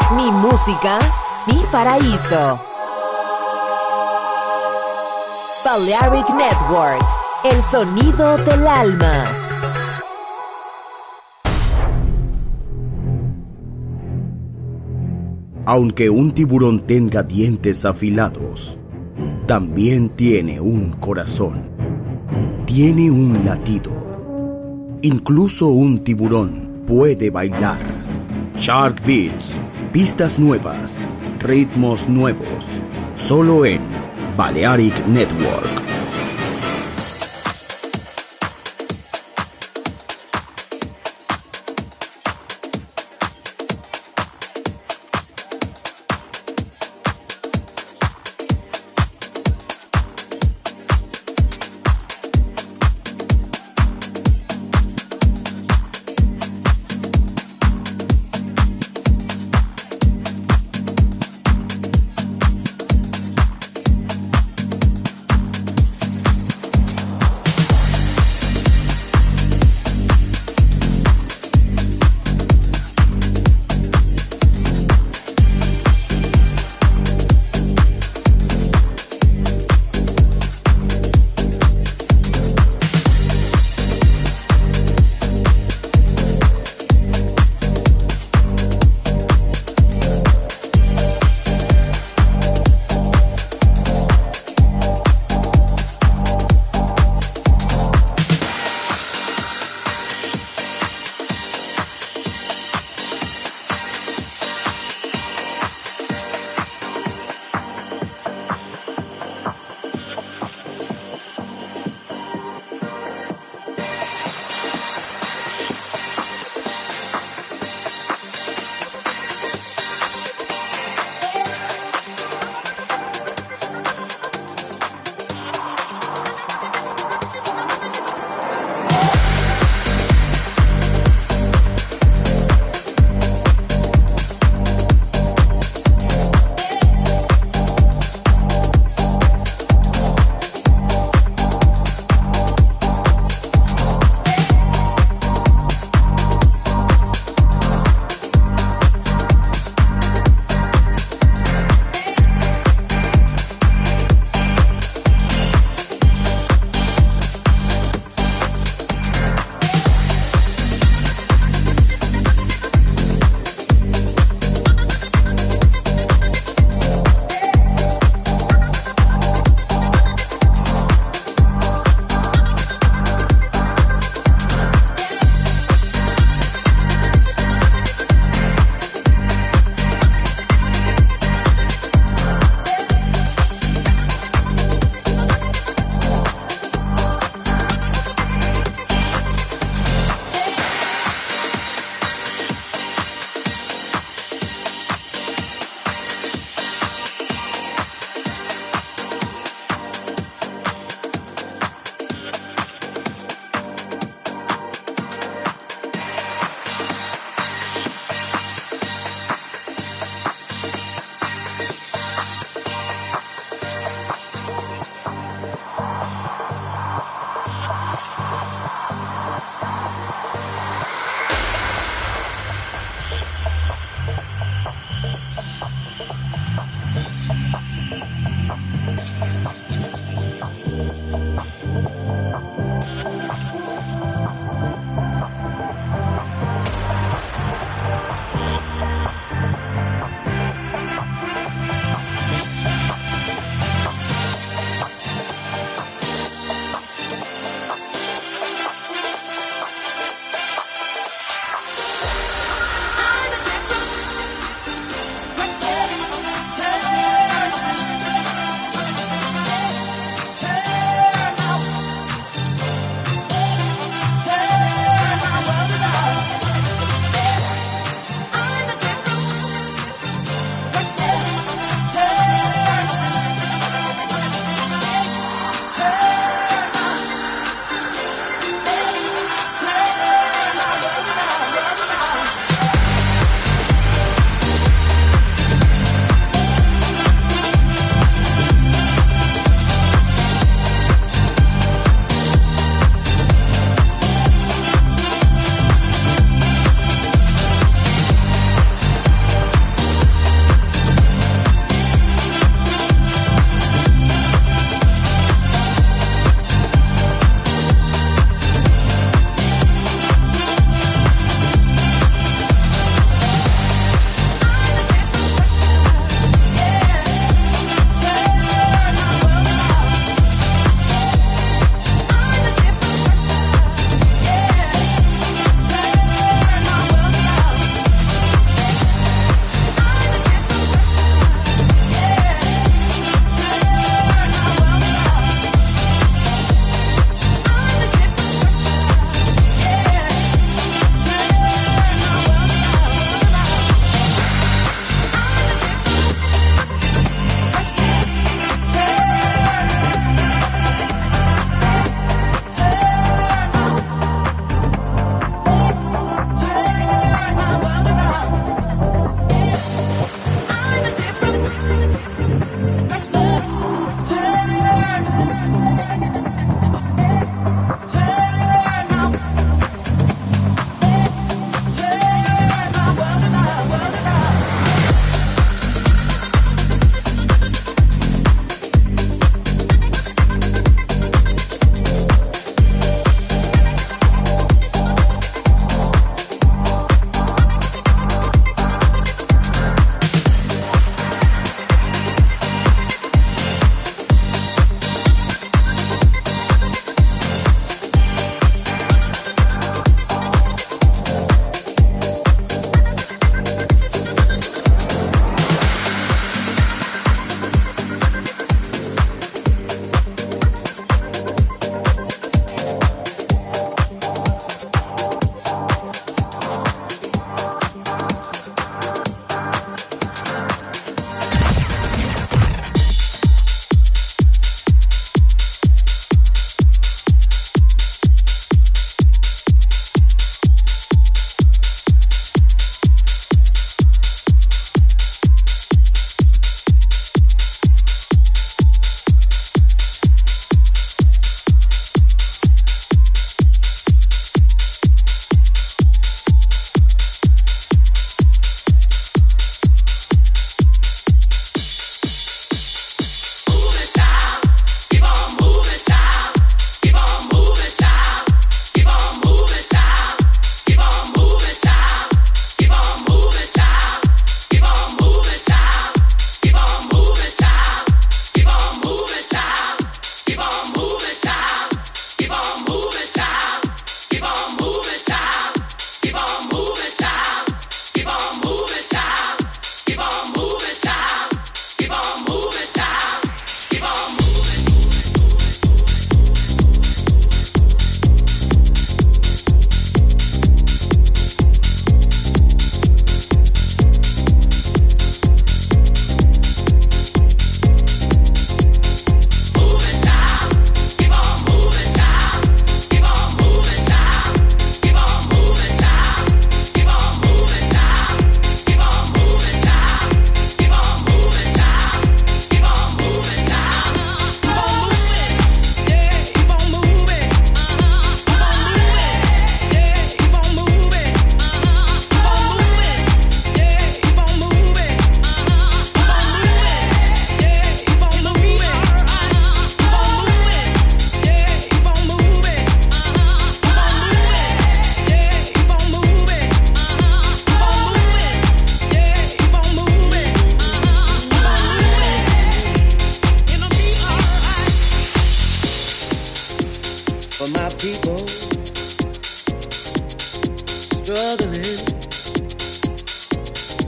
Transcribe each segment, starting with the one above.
Mi música, mi paraíso. Balearic Network, el sonido del alma. Aunque un tiburón tenga dientes afilados, también tiene un corazón. Tiene un latido. Incluso un tiburón puede bailar. Shark Beats, pistas nuevas, ritmos nuevos, solo en Balearic Network.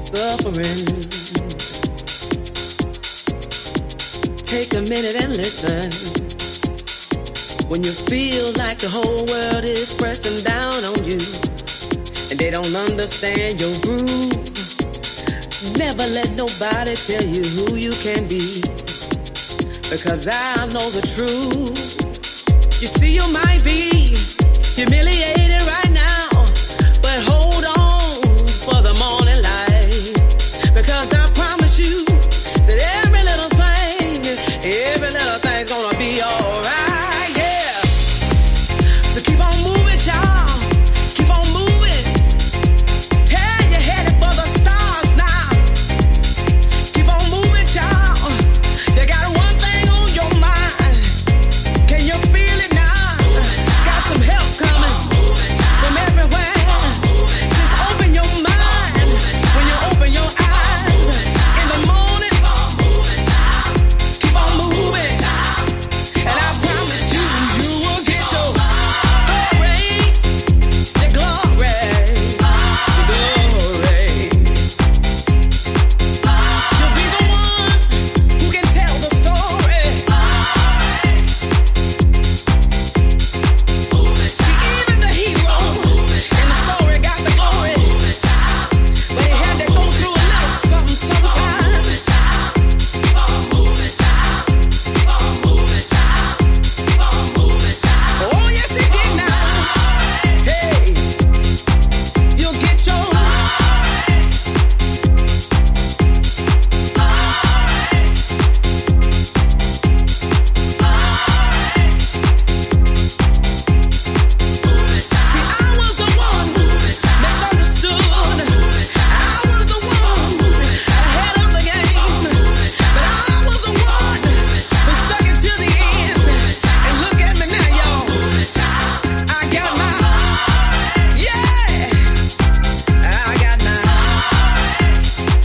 suffering. Take a minute and listen. When you feel like the whole world is pressing down on you and they don't understand your groove, never let nobody tell you who you can be, because I know the truth. You see, you might be humiliated right now, but hold on for the morning light, because I promise you that every little thing's gonna be alright, yeah. So keep on moving, y'all. Keep on moving. Hey, you're headed for the stars now. Keep on moving, y'all. You got one thing on your mind. Can you feel it now? Got some help coming from everywhere. Just open your mind when you open your eyes. In the morning, keep on moving. And I promise you, you will get your glory. Your glory. You'll be the one who can tell the story. See, even the hero in the story got the glory, but he had to go through a little something sometimes. Oh, yes, he did now. Hey, you'll get your I was the one misunderstood. I was the one ahead of the game, but I was the one who stuck it to the end. And look at me now, y'all. I got mine. Yeah, I got mine.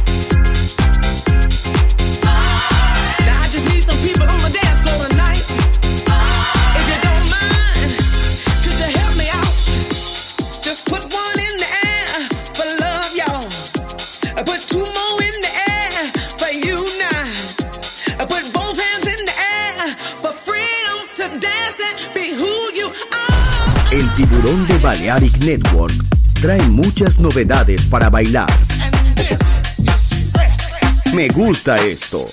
Now I just need some people on the dance floor tonight. If you don't mind, could you help me out? Just put one in the air for love, y'all. Put two more in the air for you now. Put both hands in the air for freedom to dance and be who you are. El tiburón de Balearic Network trae muchas novedades para bailar. Me gusta esto.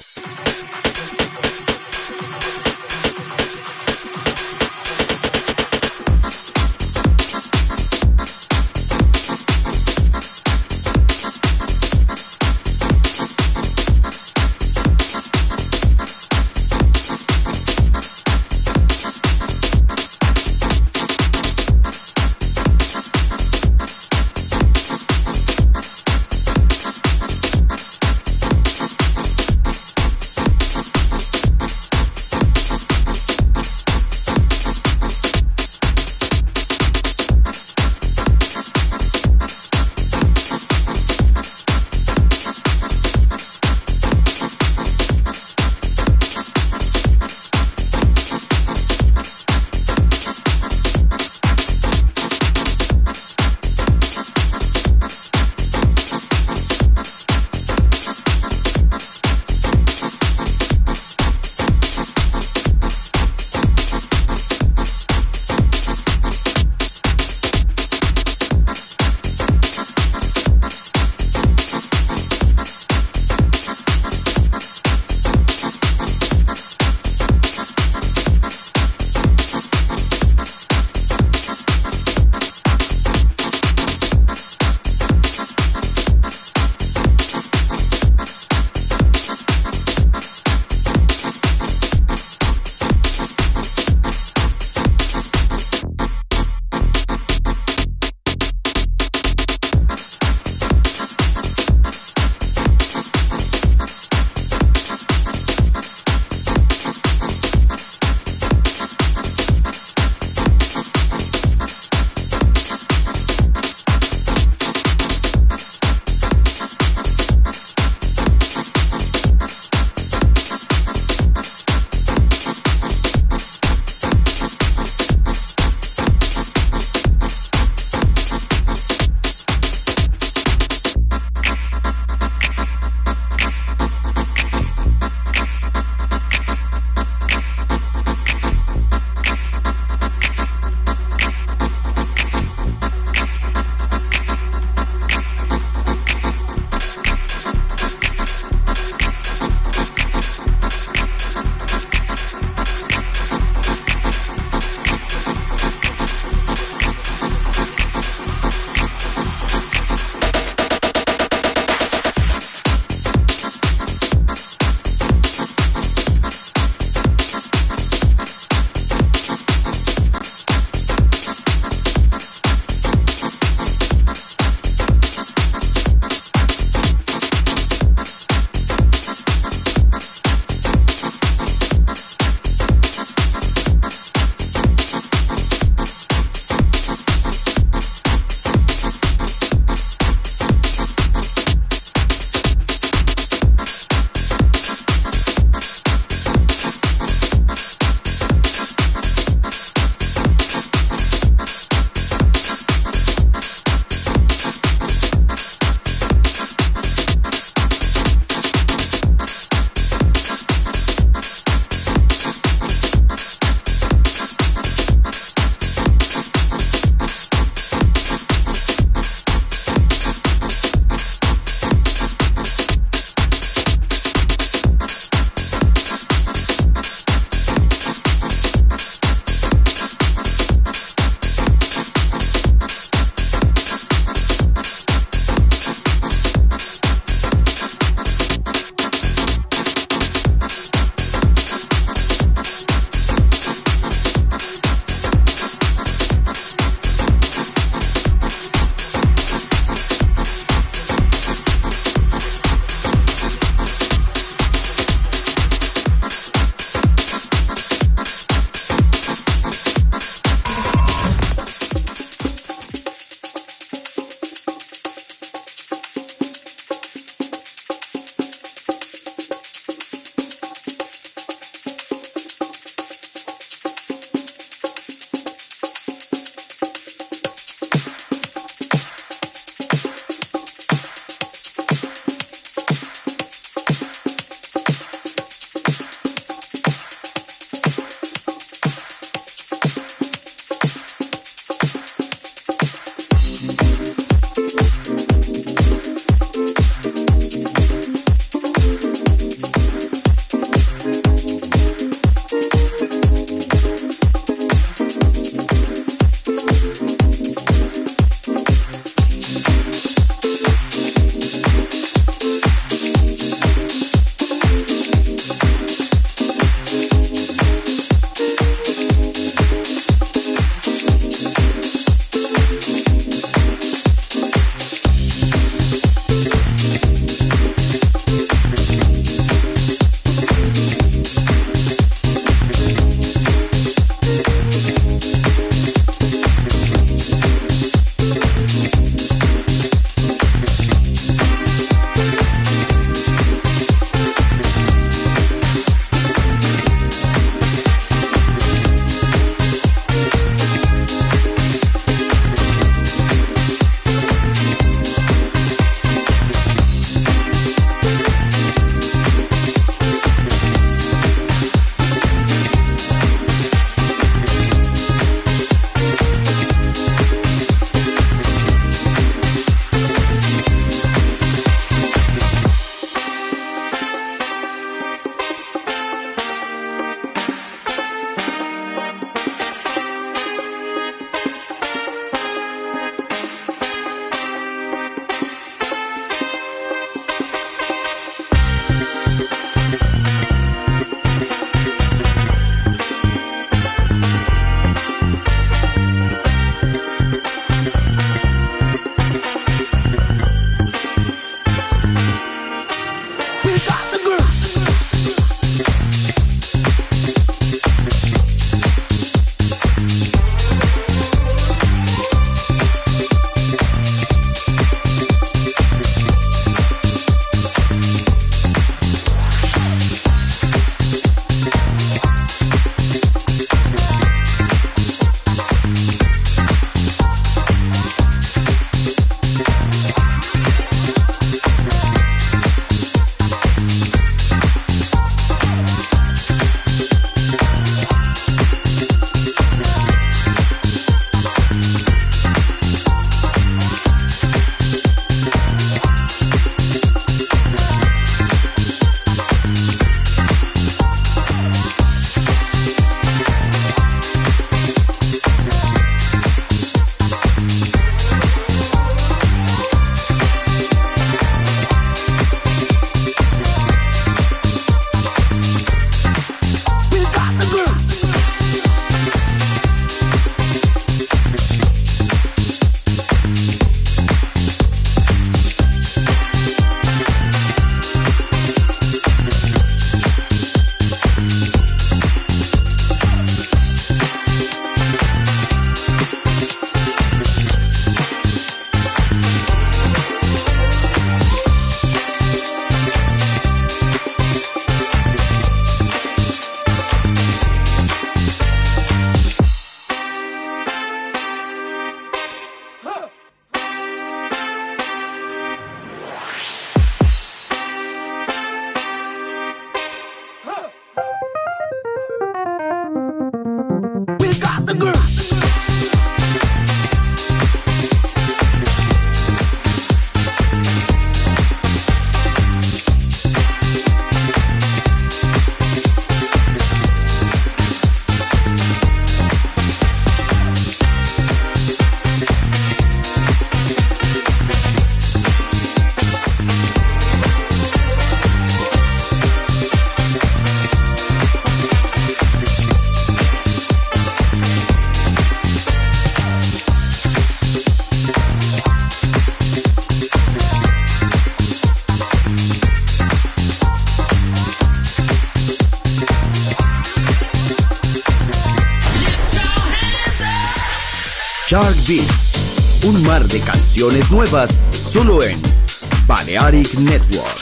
Dark Beats, un mar de canciones nuevas solo en Balearic Network.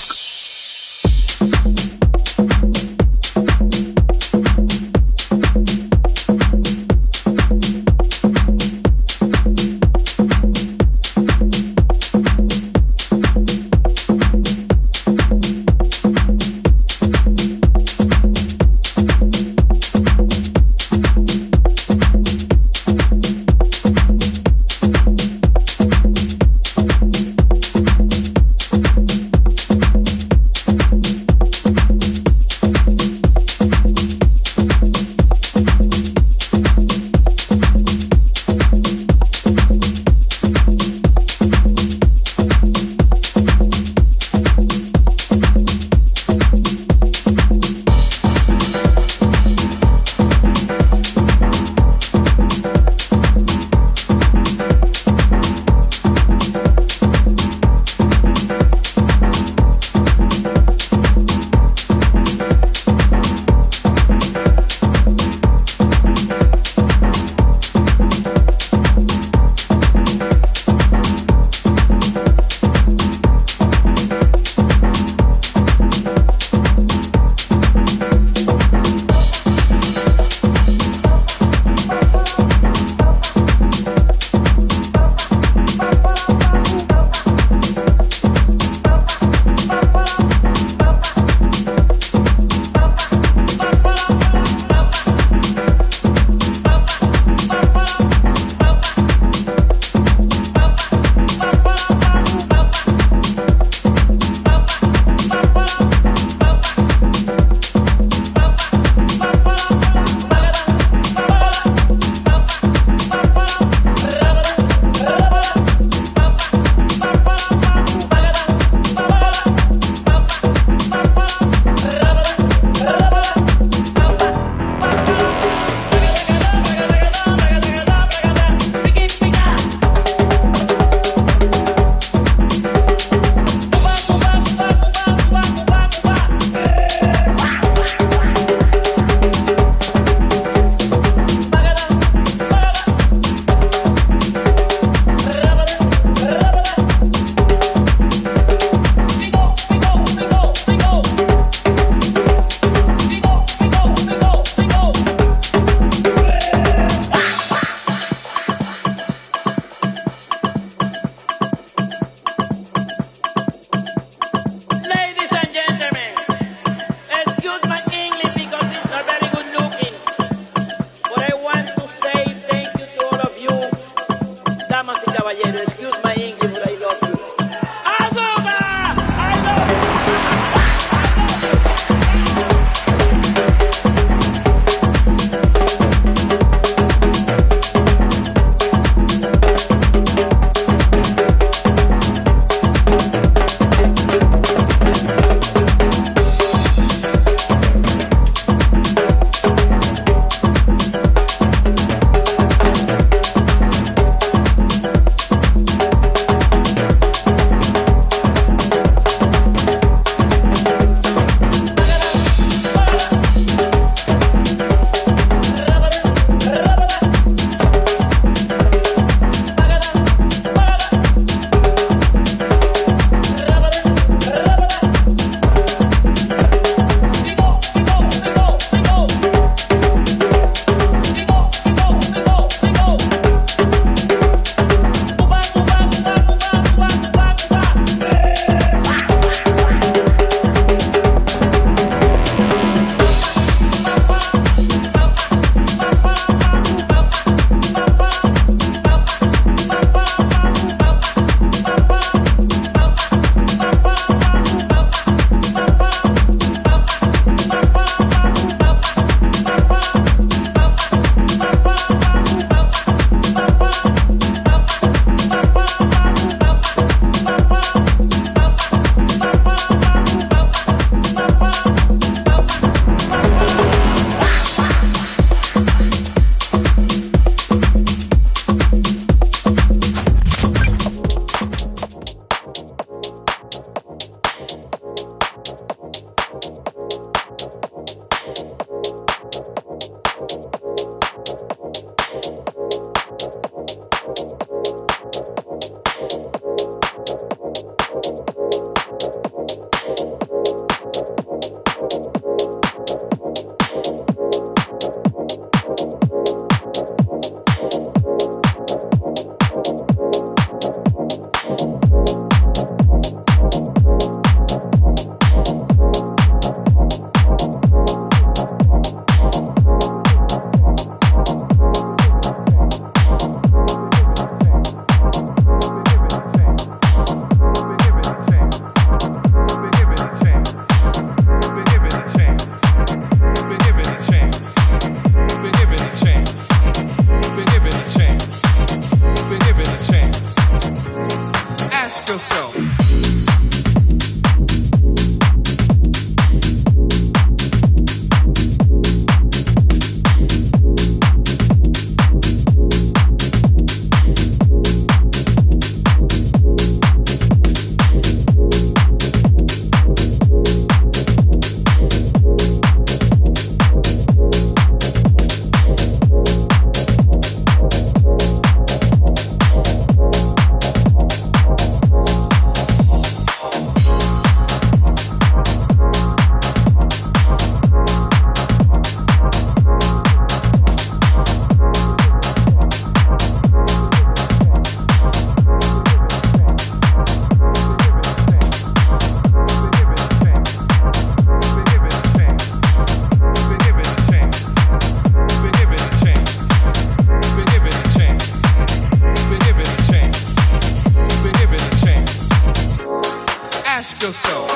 Ask yourself,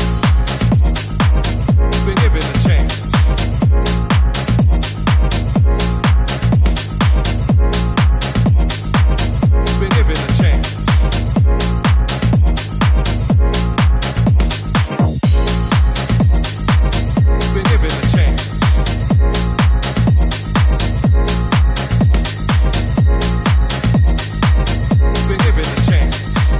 been given a chance. Been given a chance. Been given a chance. Been given a chance.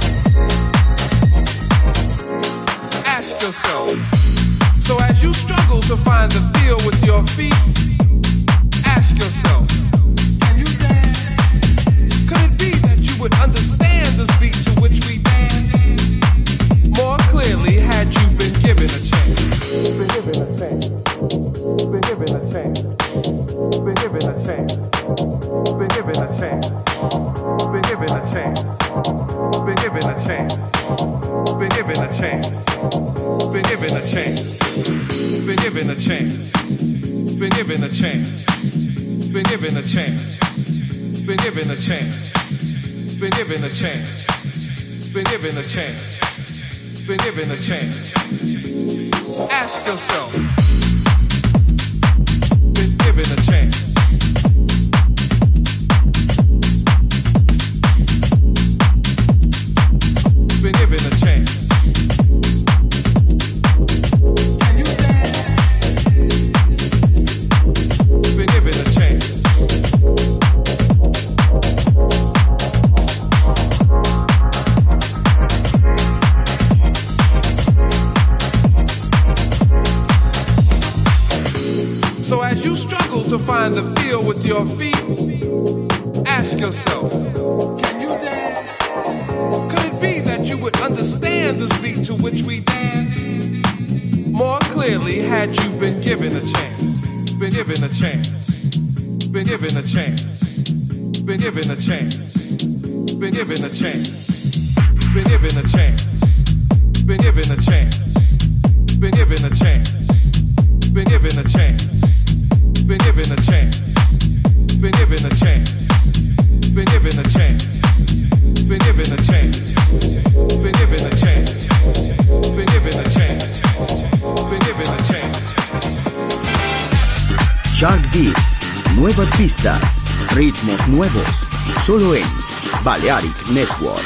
Ask yourself. So as you struggle to find the feel with your feet, ask yourself, can you dance? Could it be that you would understand the beat to which we dance more clearly had you been given a chance? Been given a chance. Been given a chance. Been given a chance. Been given a chance. Been given a chance. Been given a chance. Been given a chance. Been given a chance. Been given a chance. Been given a chance. Been given a chance. Been given a chance. Been given a chance. Been given a chance. Been given a chance. Ask yourself. Been given a chance. Been given a chance. Can you dance? Been given a chance. So as you struggle to find the feel with your feet, ask yourself, can you dance? Could it be that you would understand the beat to which we dance more clearly had you been given a chance? Been given a chance. Been given a chance. Been given a chance. Been given a chance. Been given a chance. Been given a chance. Been given a chance. Been given a chance. Been given a chance. Been given a chance. Been given a chance. Been given a chance. Been given a chance. Been given a chance. Been given a chance. Shark Beats, nuevas pistas, ritmos nuevos, solo en Balearic Network.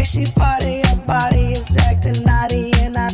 Okay, she party, her body is acting naughty, and I.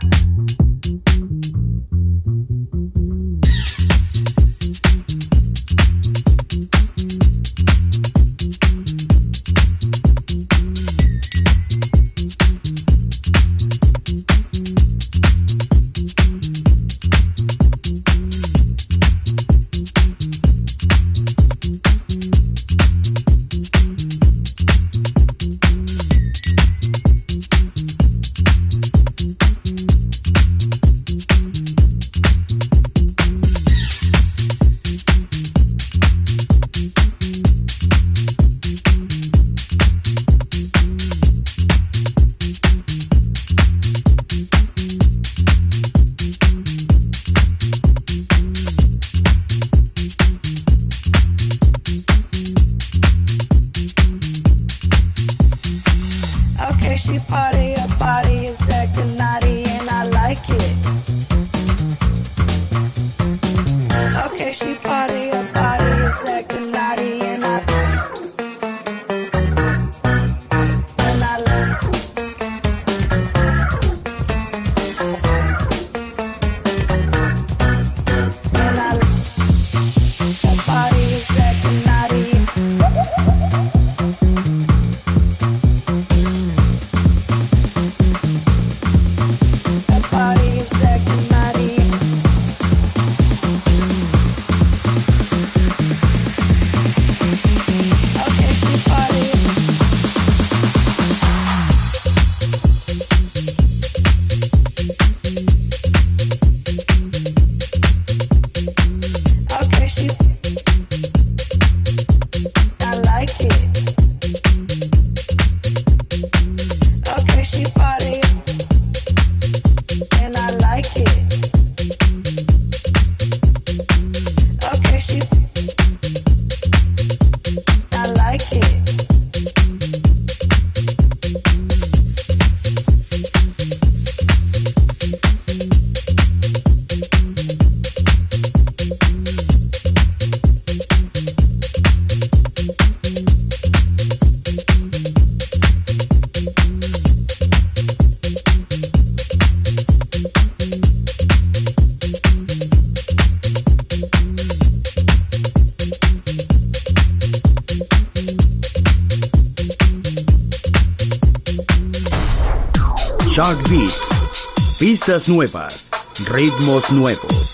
She party, her body is acting naughty, and I like it. Okay, she party, her body is acting naughty, and I like it. And I her body is acting naughty. Shark Beat. Pistas nuevas, ritmos nuevos.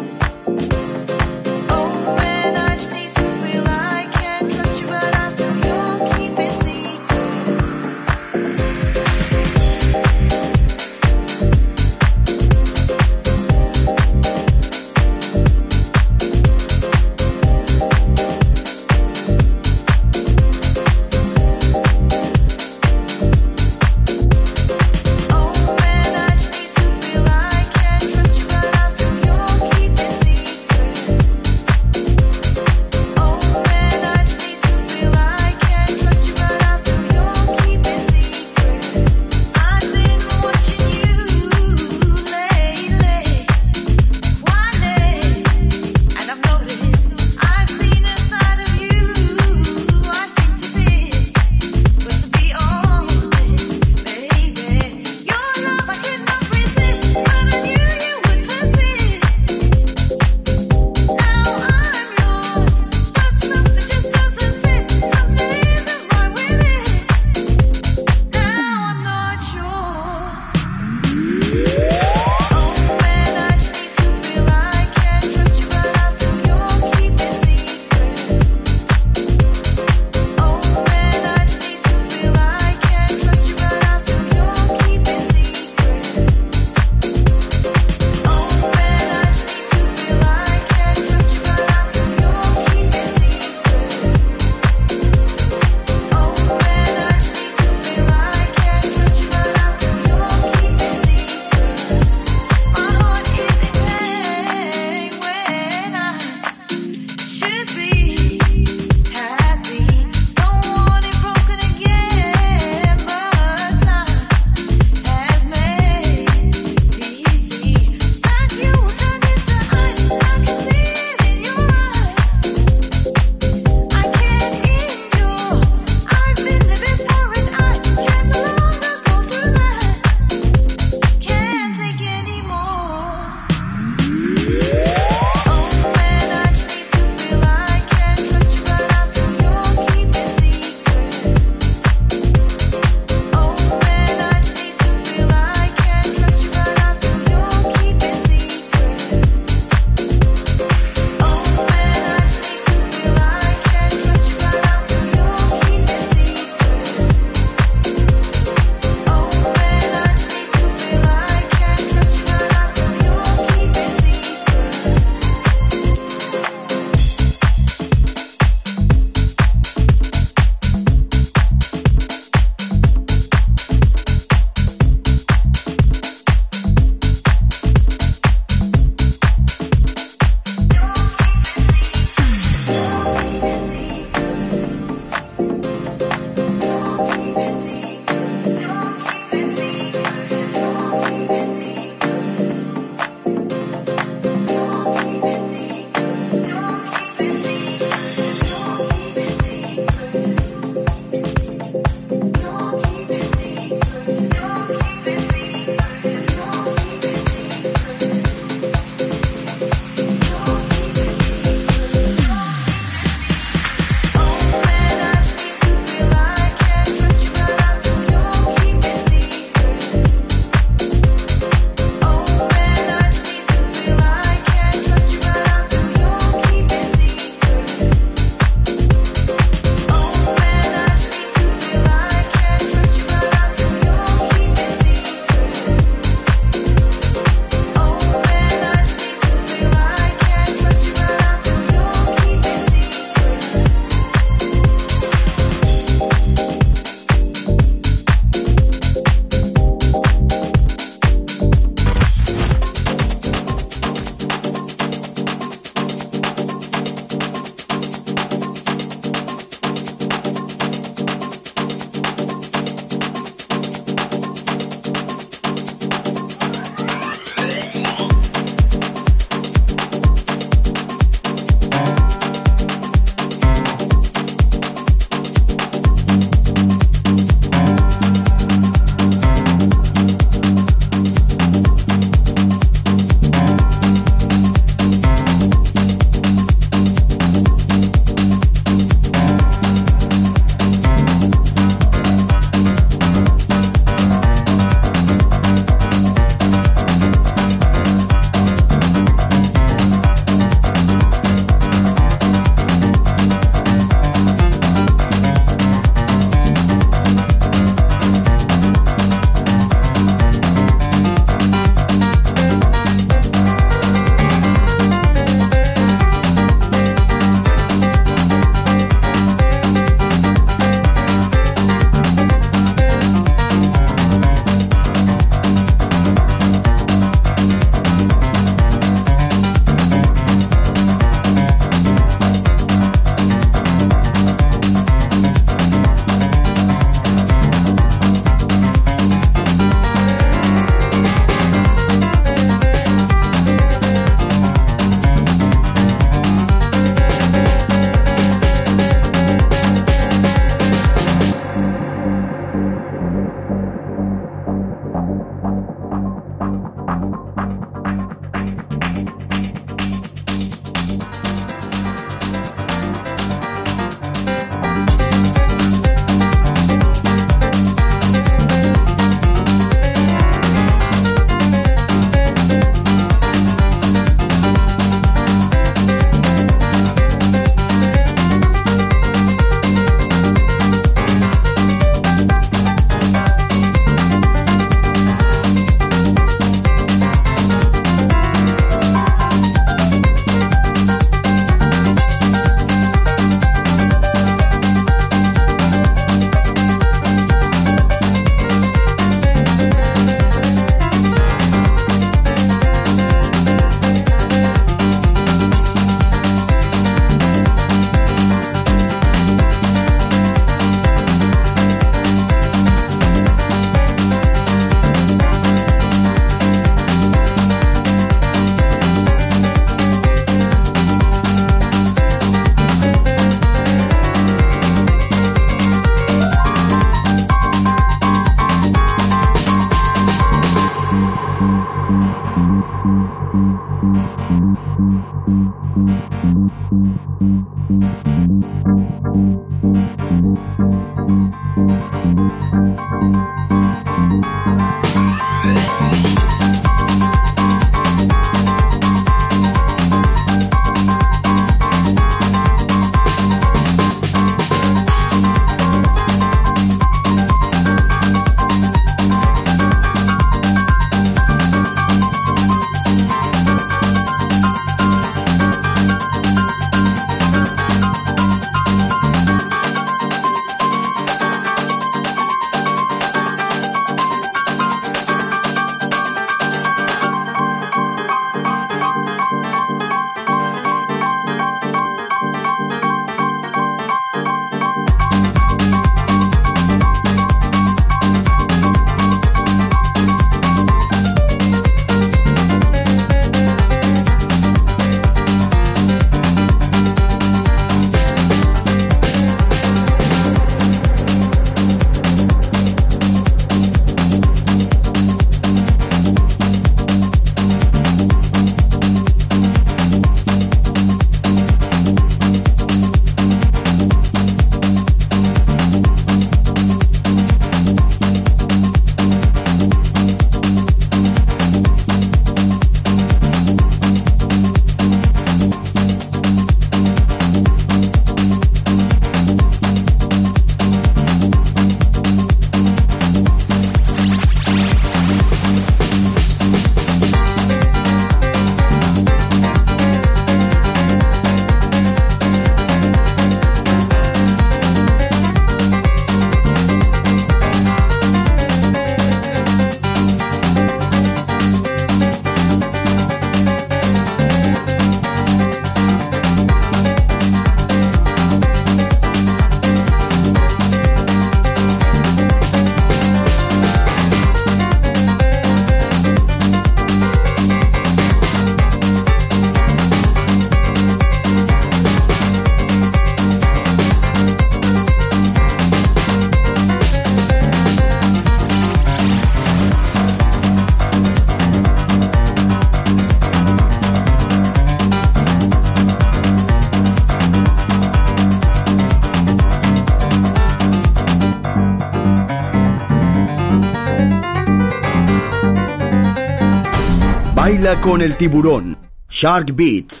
Baila con el tiburón. Shark Beats.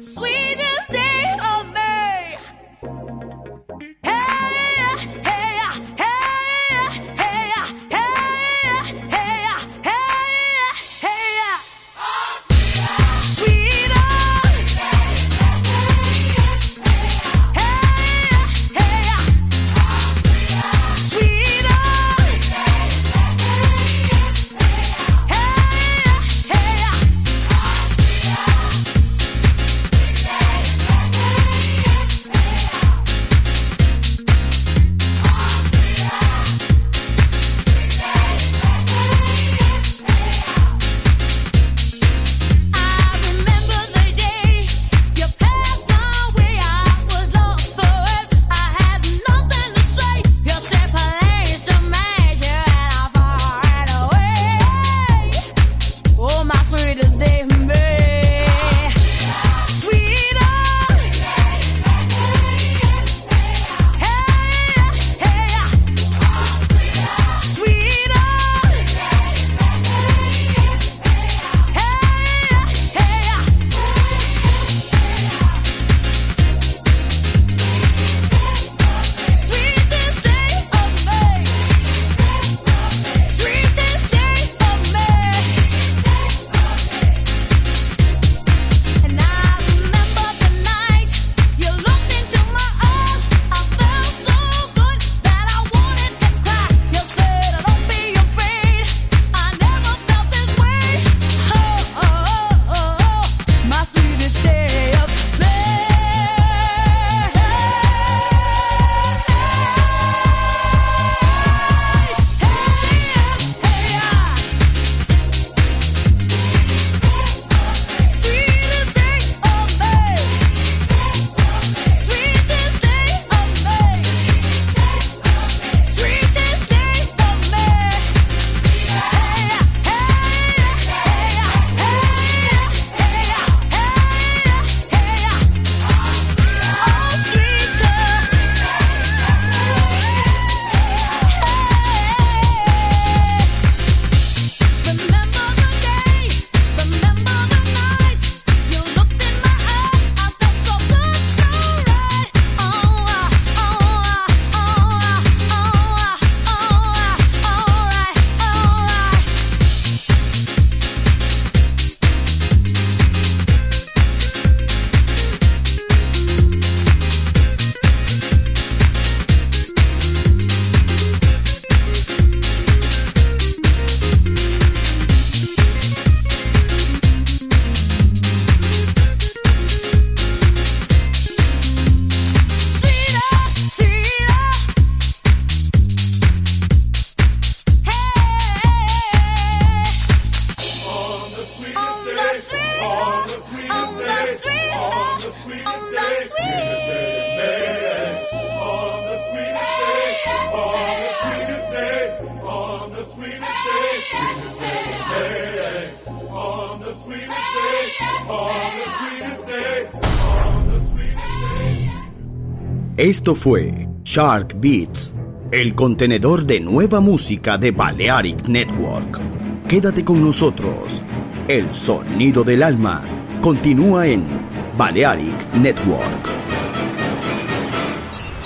sweetest day of May. Hey, hey, hey, hey, hey, hey, hey, hey. Sweeter. Esto fue Shark Beats, el contenedor de nueva música de Balearic Network. Quédate con nosotros. El sonido del alma continúa en Balearic Network.